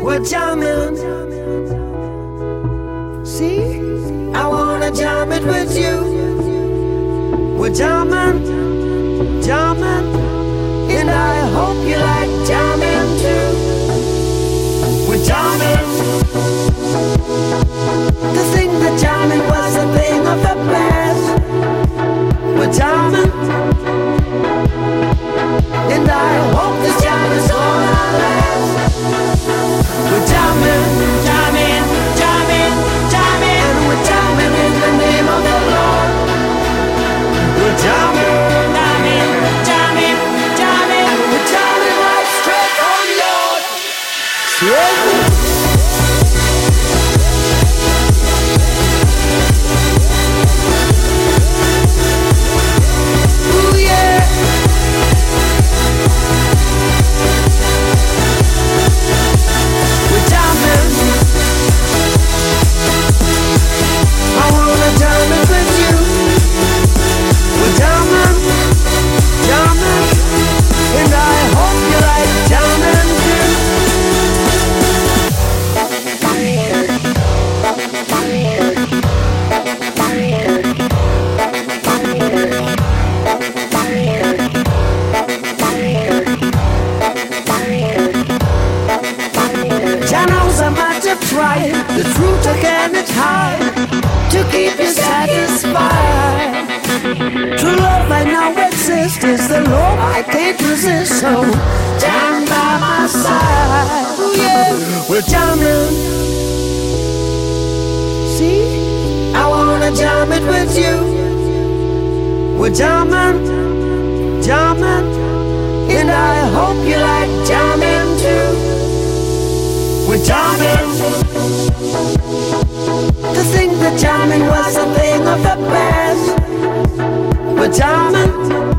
We're jamming. See, I wanna jam it with you. We're jamming, jamming, and I hope you like jamming too. We're jamming. To think that jamming was a thing of the past. We're jamming, and I hope this jam is gonna last. We're jamming, jamming, jamming, jamming, and we're jamming in the name of the Lord. We're jamming, jamming, jamming, jamming, and we're jamming right straight on Lord. Yeah. The truth again is high to keep you satisfied. True love I now exist is the love I can't resist. So jam by my side. Ooh, yeah. We're jamming. See, I wanna jam it with you. We're jamming, jamming, and I hope you like jamming too. We're jamming. To think that jamming was a thing of the past. We're jamming,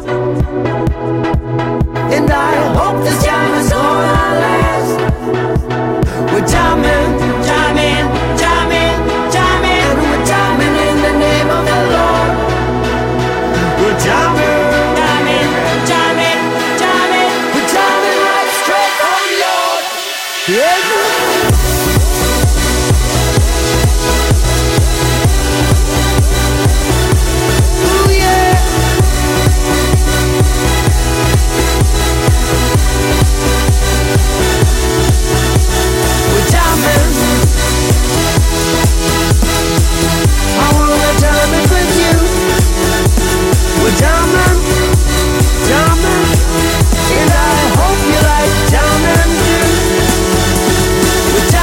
and I hope this jam is gonna last. We're jamming, jamming, jamming, jamming, and we're jamming in the name of the Lord. We're jamming, jamming, jamming, jamming, we're jamming right straight on Lord. Yeah. Jamming, and I hope you like jamming too. We're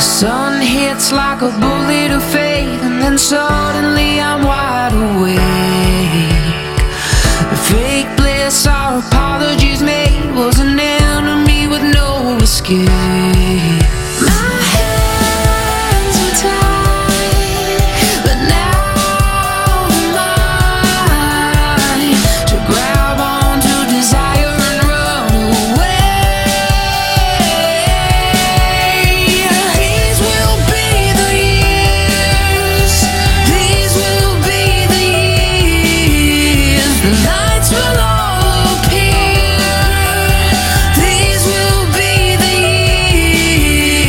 Sun hits like a bullet of faith, and then suddenly I'm wide awake. Fake bliss, our apologies made, was an enemy with no escape. My hands were tied, but now I'm mine to grab onto desire and run away. These will be the years, these will be the years, the lights will all appear. These will be the years.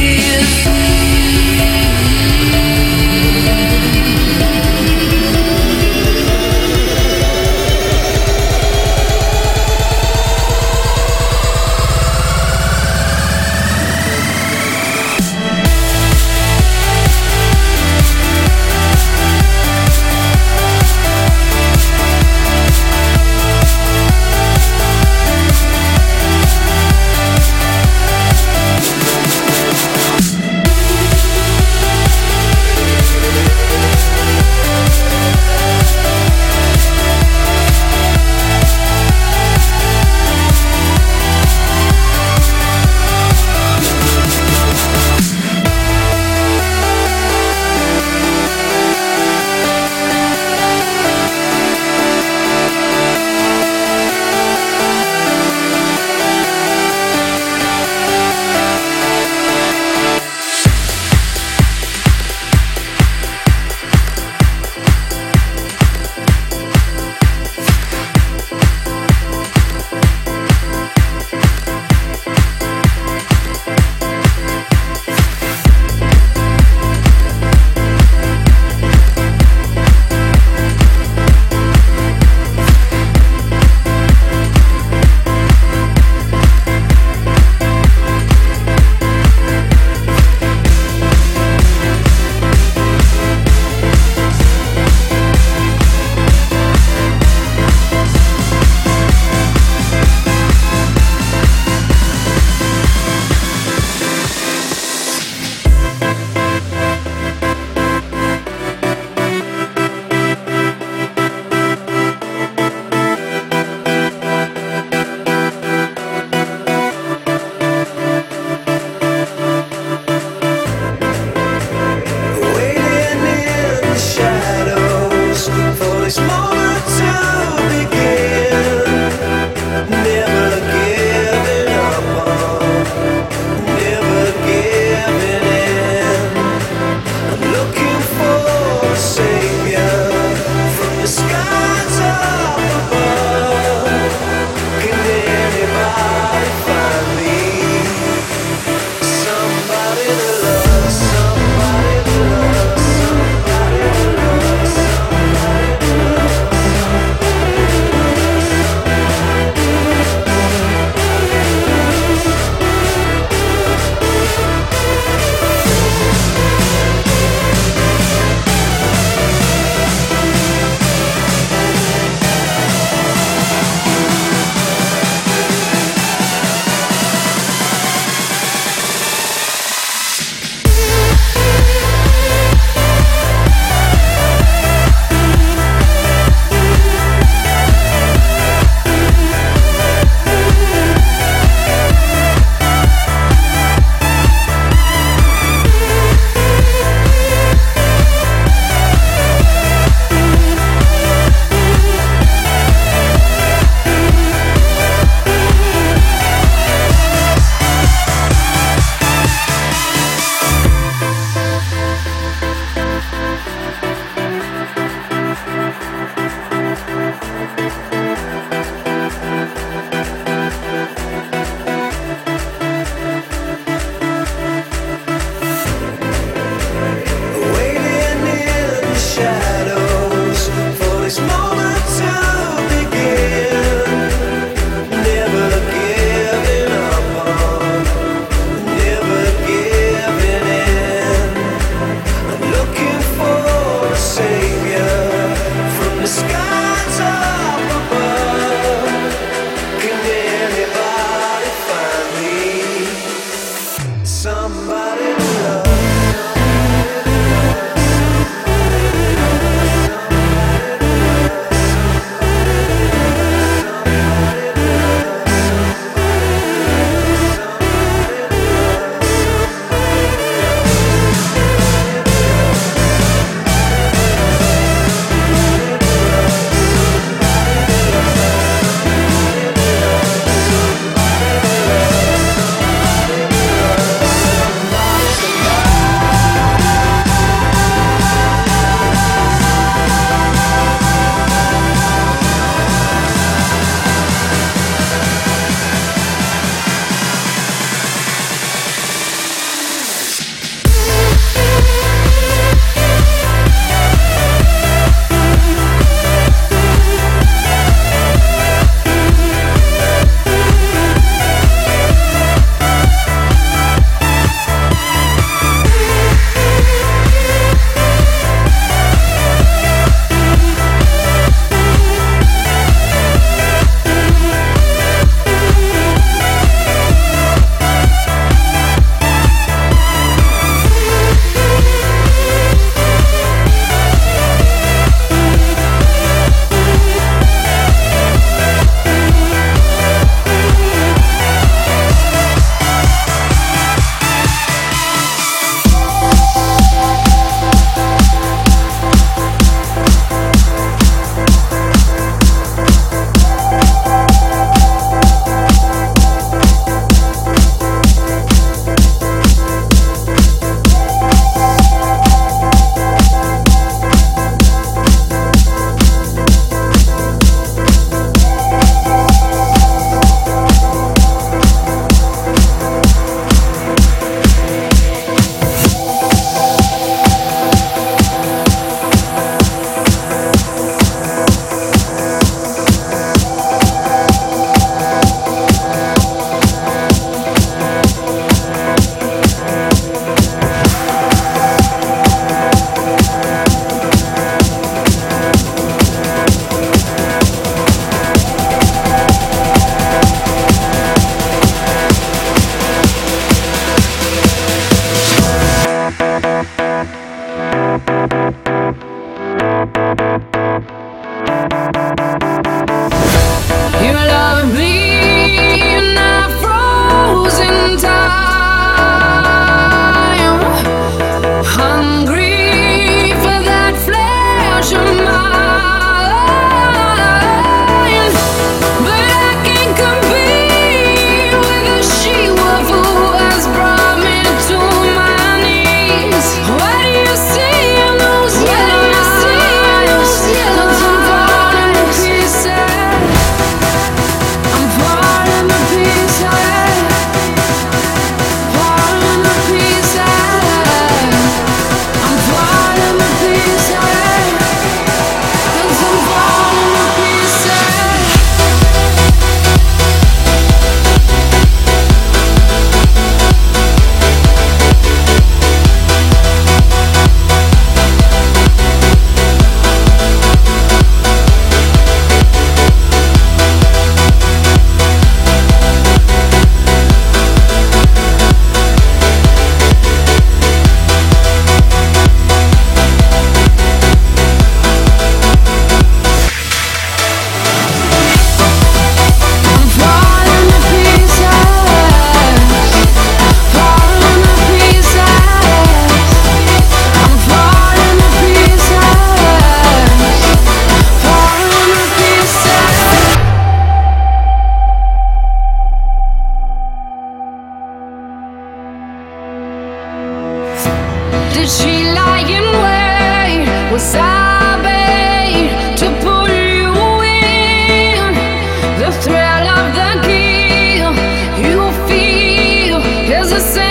Did she lie in wait? Was I bait to pull you in? The thrill of the kill you feel is a sin.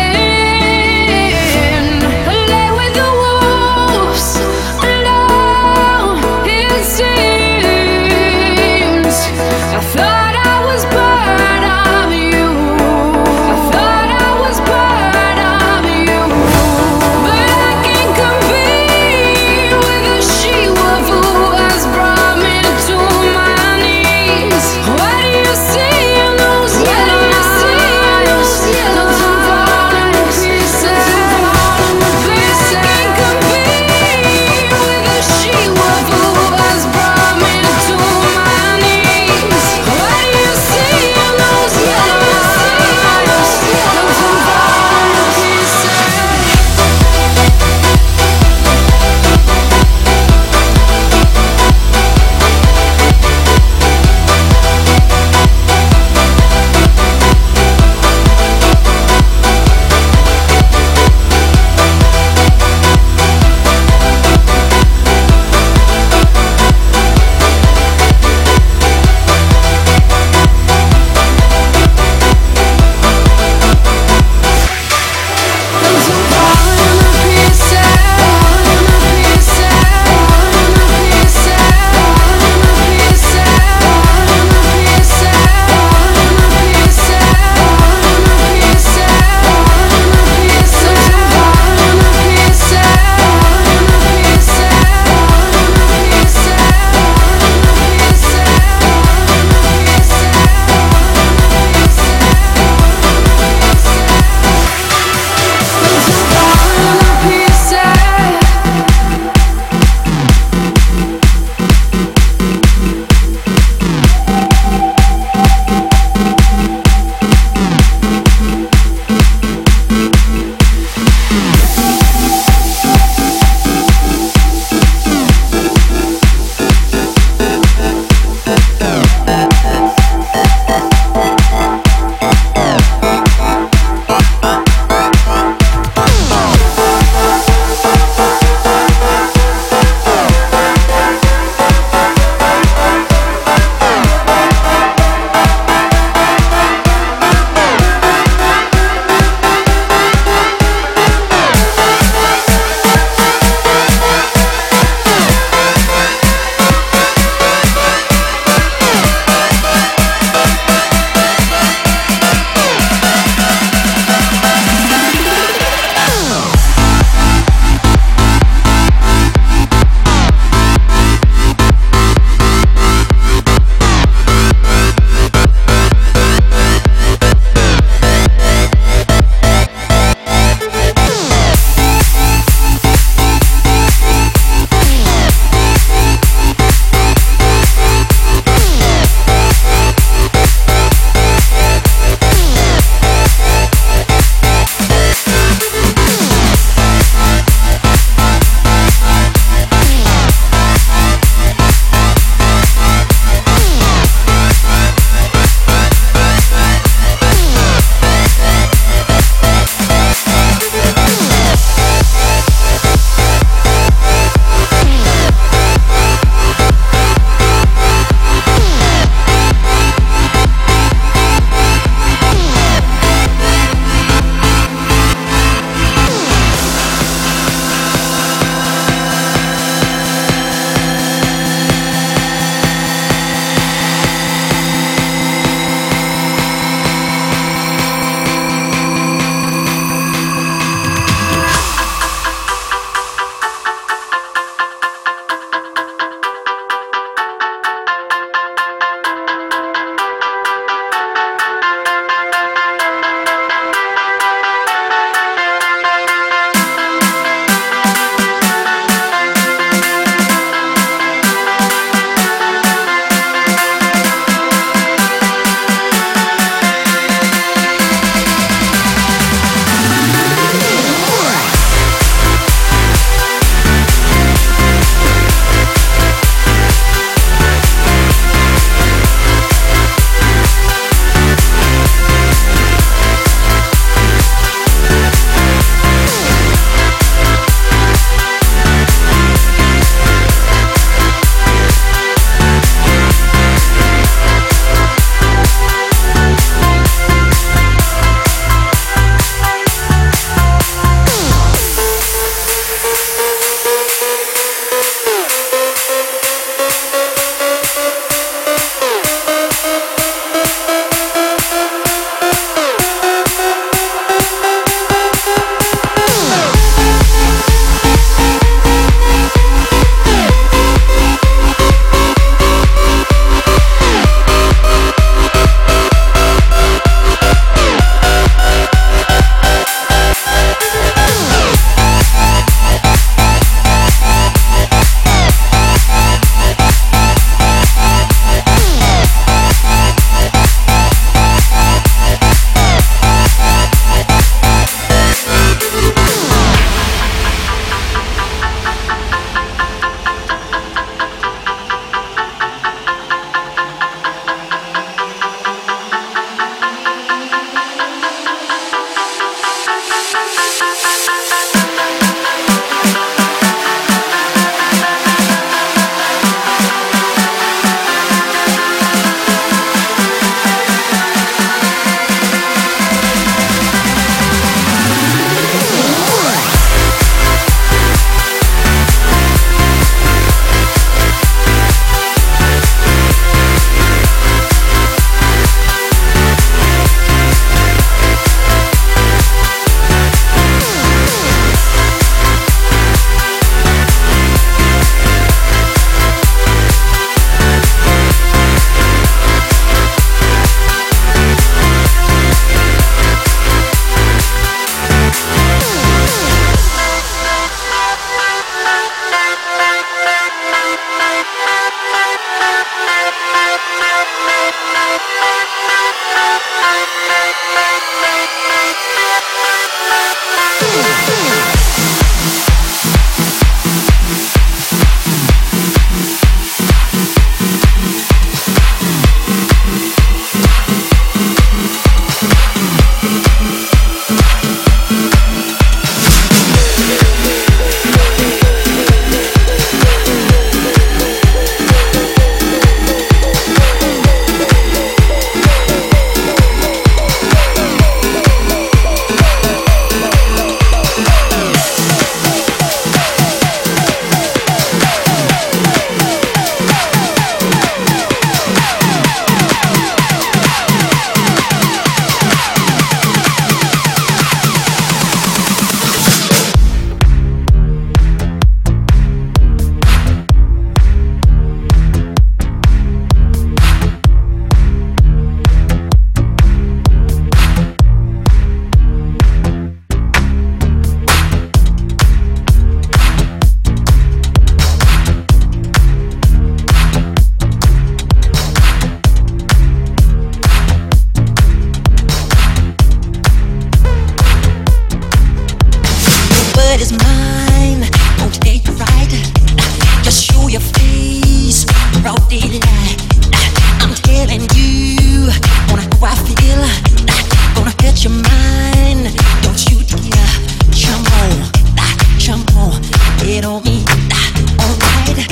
Lay with the wolves alone, it seems. I thought I was part of you. I thought I was part of you. But I can't compete with what is mine won't take you right. Just show your face, broad daylight. I'm telling you, wanna how I feel. Gonna hurt your mind, don't you dare. Jump on, get on me, alright.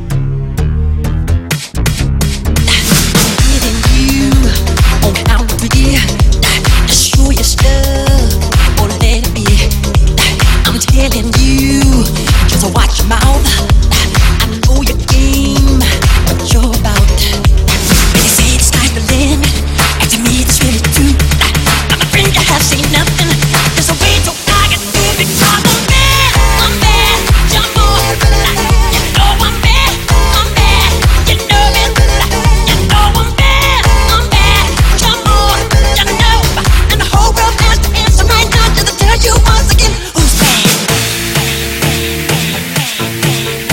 I'm hitting you on count of three. Just show your stuff, or let it be. I'm telling you, just watch your mouth. I know your game, what you're about. When they say the sky's the limit, and to me it's really true. I'm afraid I have seen nothing. There's a way to I can do it because I'm bad, jump on. You know I'm bad, you know it. You know I'm bad, jump on. You know, and the whole world has to answer right now. Just to tell you once again who's bad.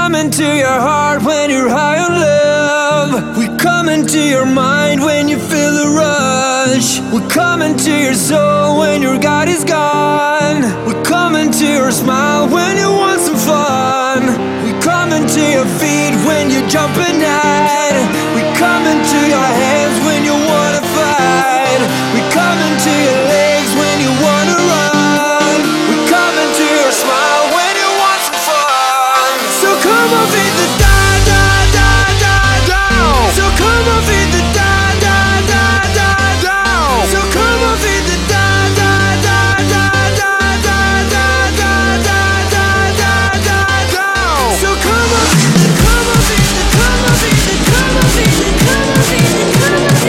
come into your heart when you're high on love. We come into your mind when you feel the rush. We come into your soul when your God is gone. We come into your smile when you want some fun. We come into your feet when you jump at night. We come into your hands when you wanna fight. We come into your legs when you wanna run. We come into your smile when you want some fun. So come on, beat the da da da da down. So come on, beat the da da da da down. So come on, beat the da da da da da da da da da da da da down. So come on, beat the, come on, beat the, come on, beat the, come on, beat the, come on, beat the, come on, beat the.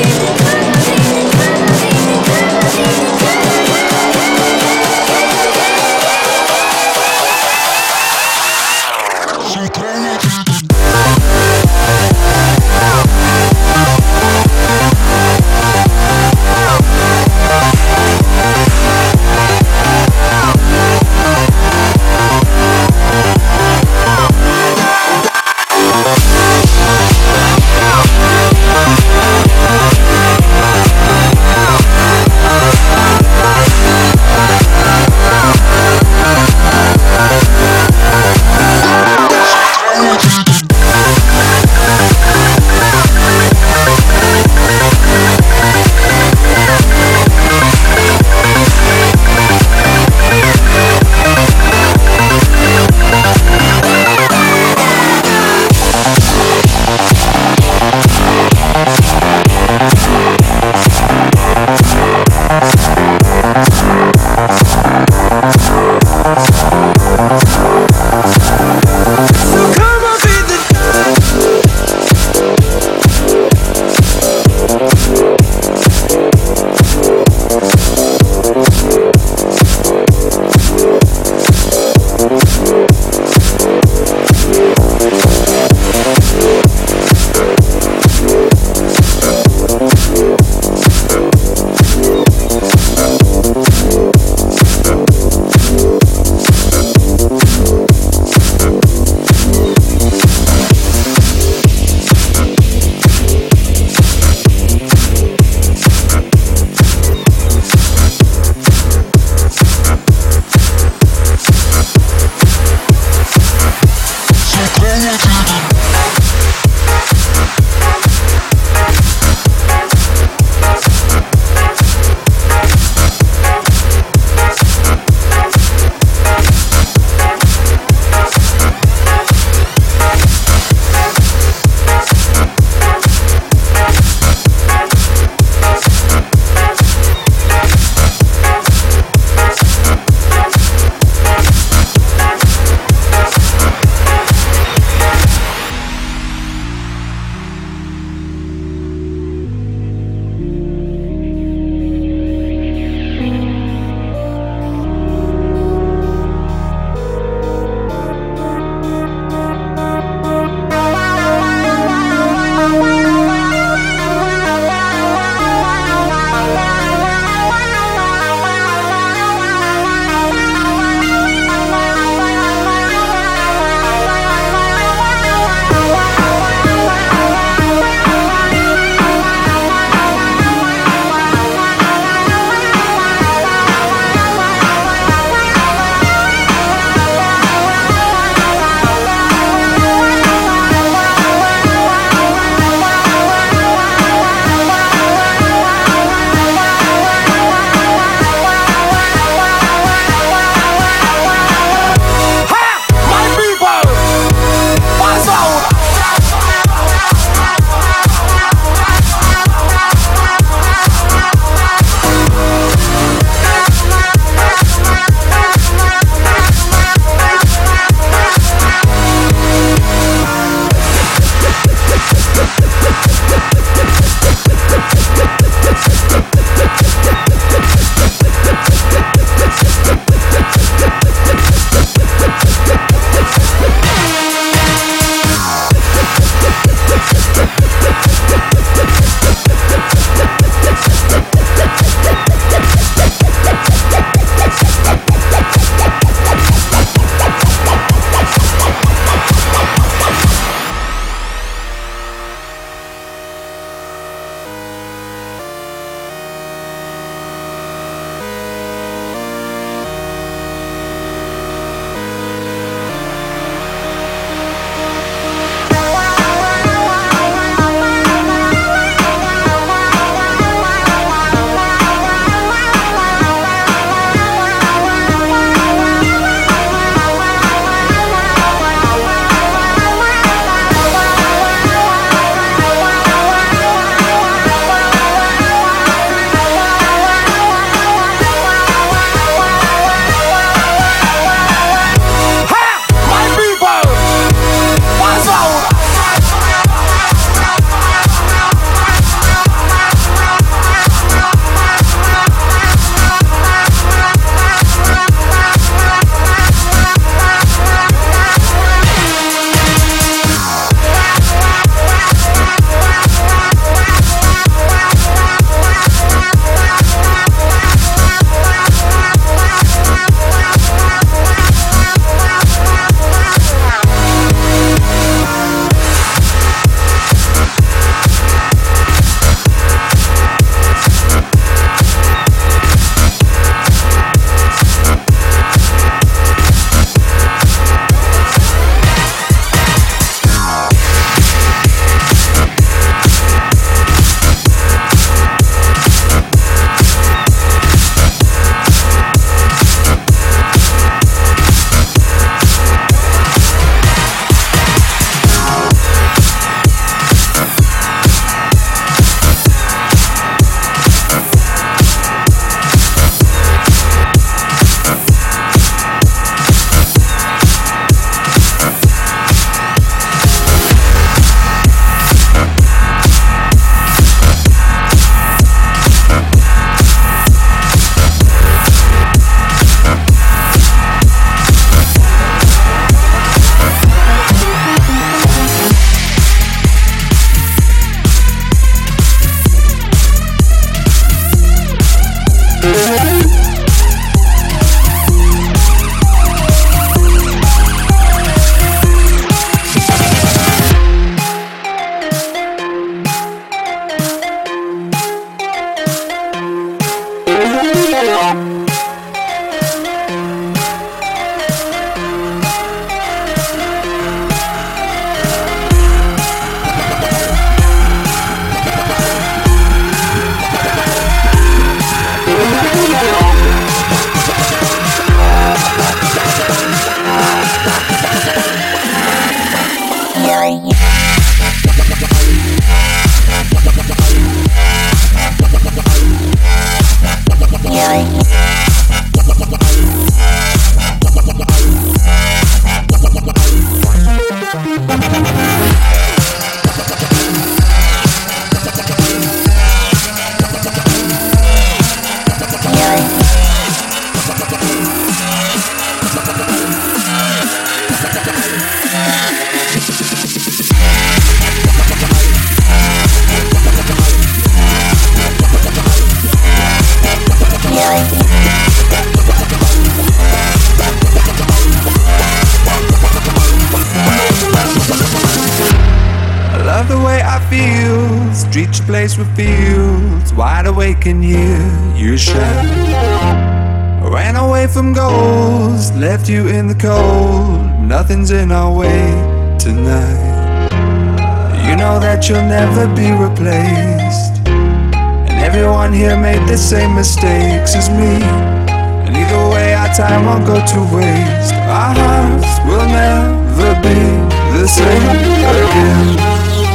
Streets, place with fields, wide awake and hear you shout. Ran away from goals, left you in the cold. Nothing's in our way tonight. You know that you'll never be replaced, and everyone here made the same mistakes as me. And either way, our time won't go to waste. Our hearts will never be the same again.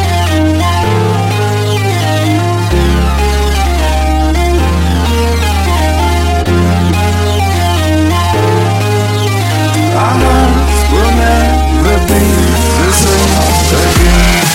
Our hearts will never be the same again.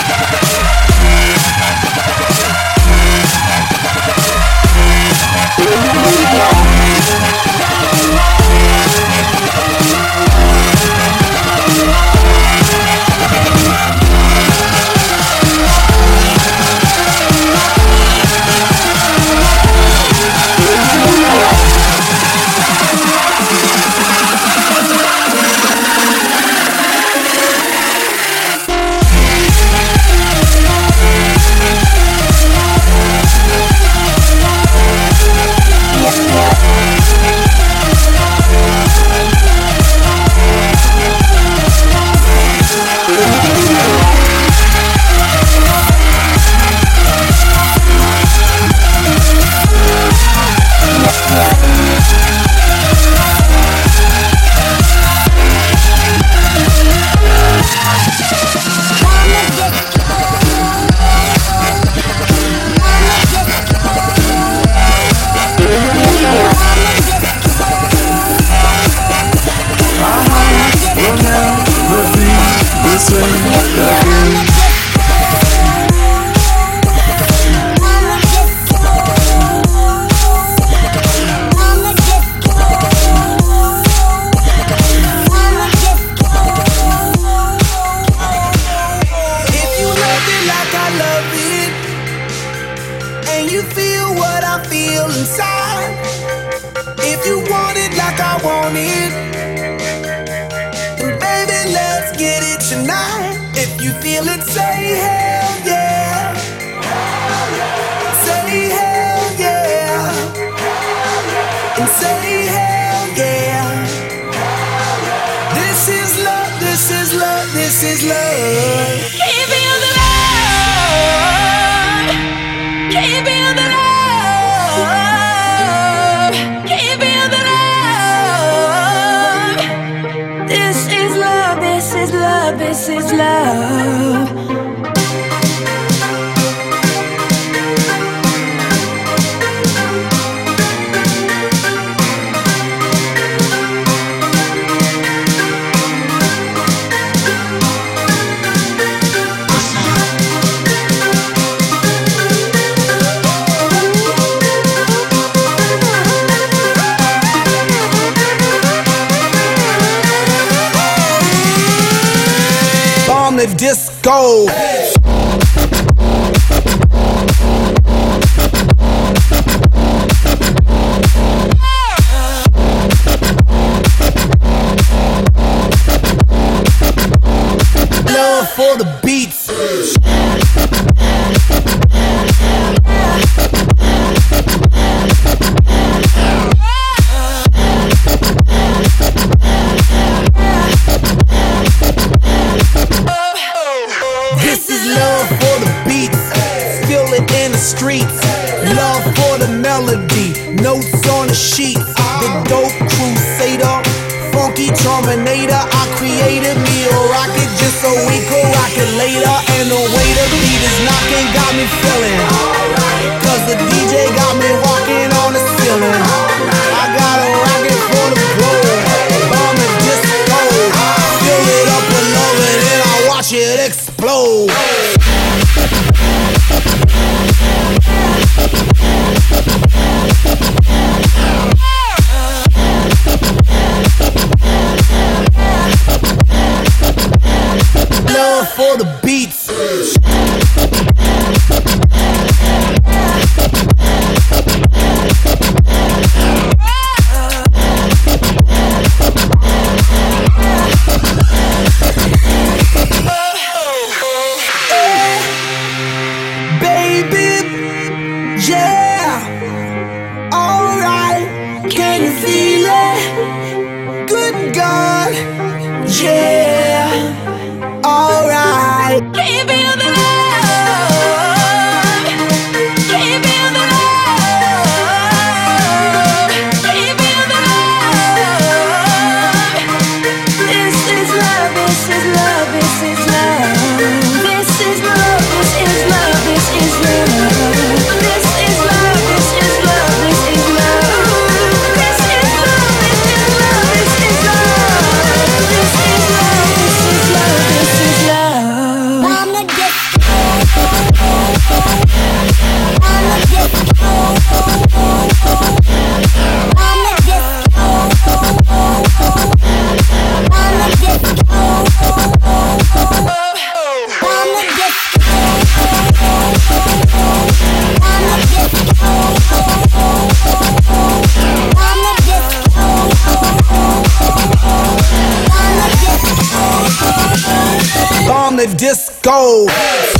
Disco. Love for the beats. notes on the sheet. The dope crusader, funky terminator. I created me a rocket just so we could rock it later. And the way the beat is knocking got me feeling. Cause the DJ got me walking on the ceiling. I got a rocket for the globe. Bomb the disco. Fill it up with love and then I watch it explode. Love for the beats. Baby, yeah, alright, can you feel it? Good God, yeah, alright. Can you feel the love? Can you feel the love? Can you feel the love? This is love, this is love, this is love. This is love, this is love, this is love. This is love, this is love, this is love. This is love, this is love, this is love. This is love, this is love, this is love. I'm the disco. I'm the disco. I'm the disco. I'm the disco. I'm the disco. I'm the disco. I'm the disco. I'm the disco. Bomb the disco.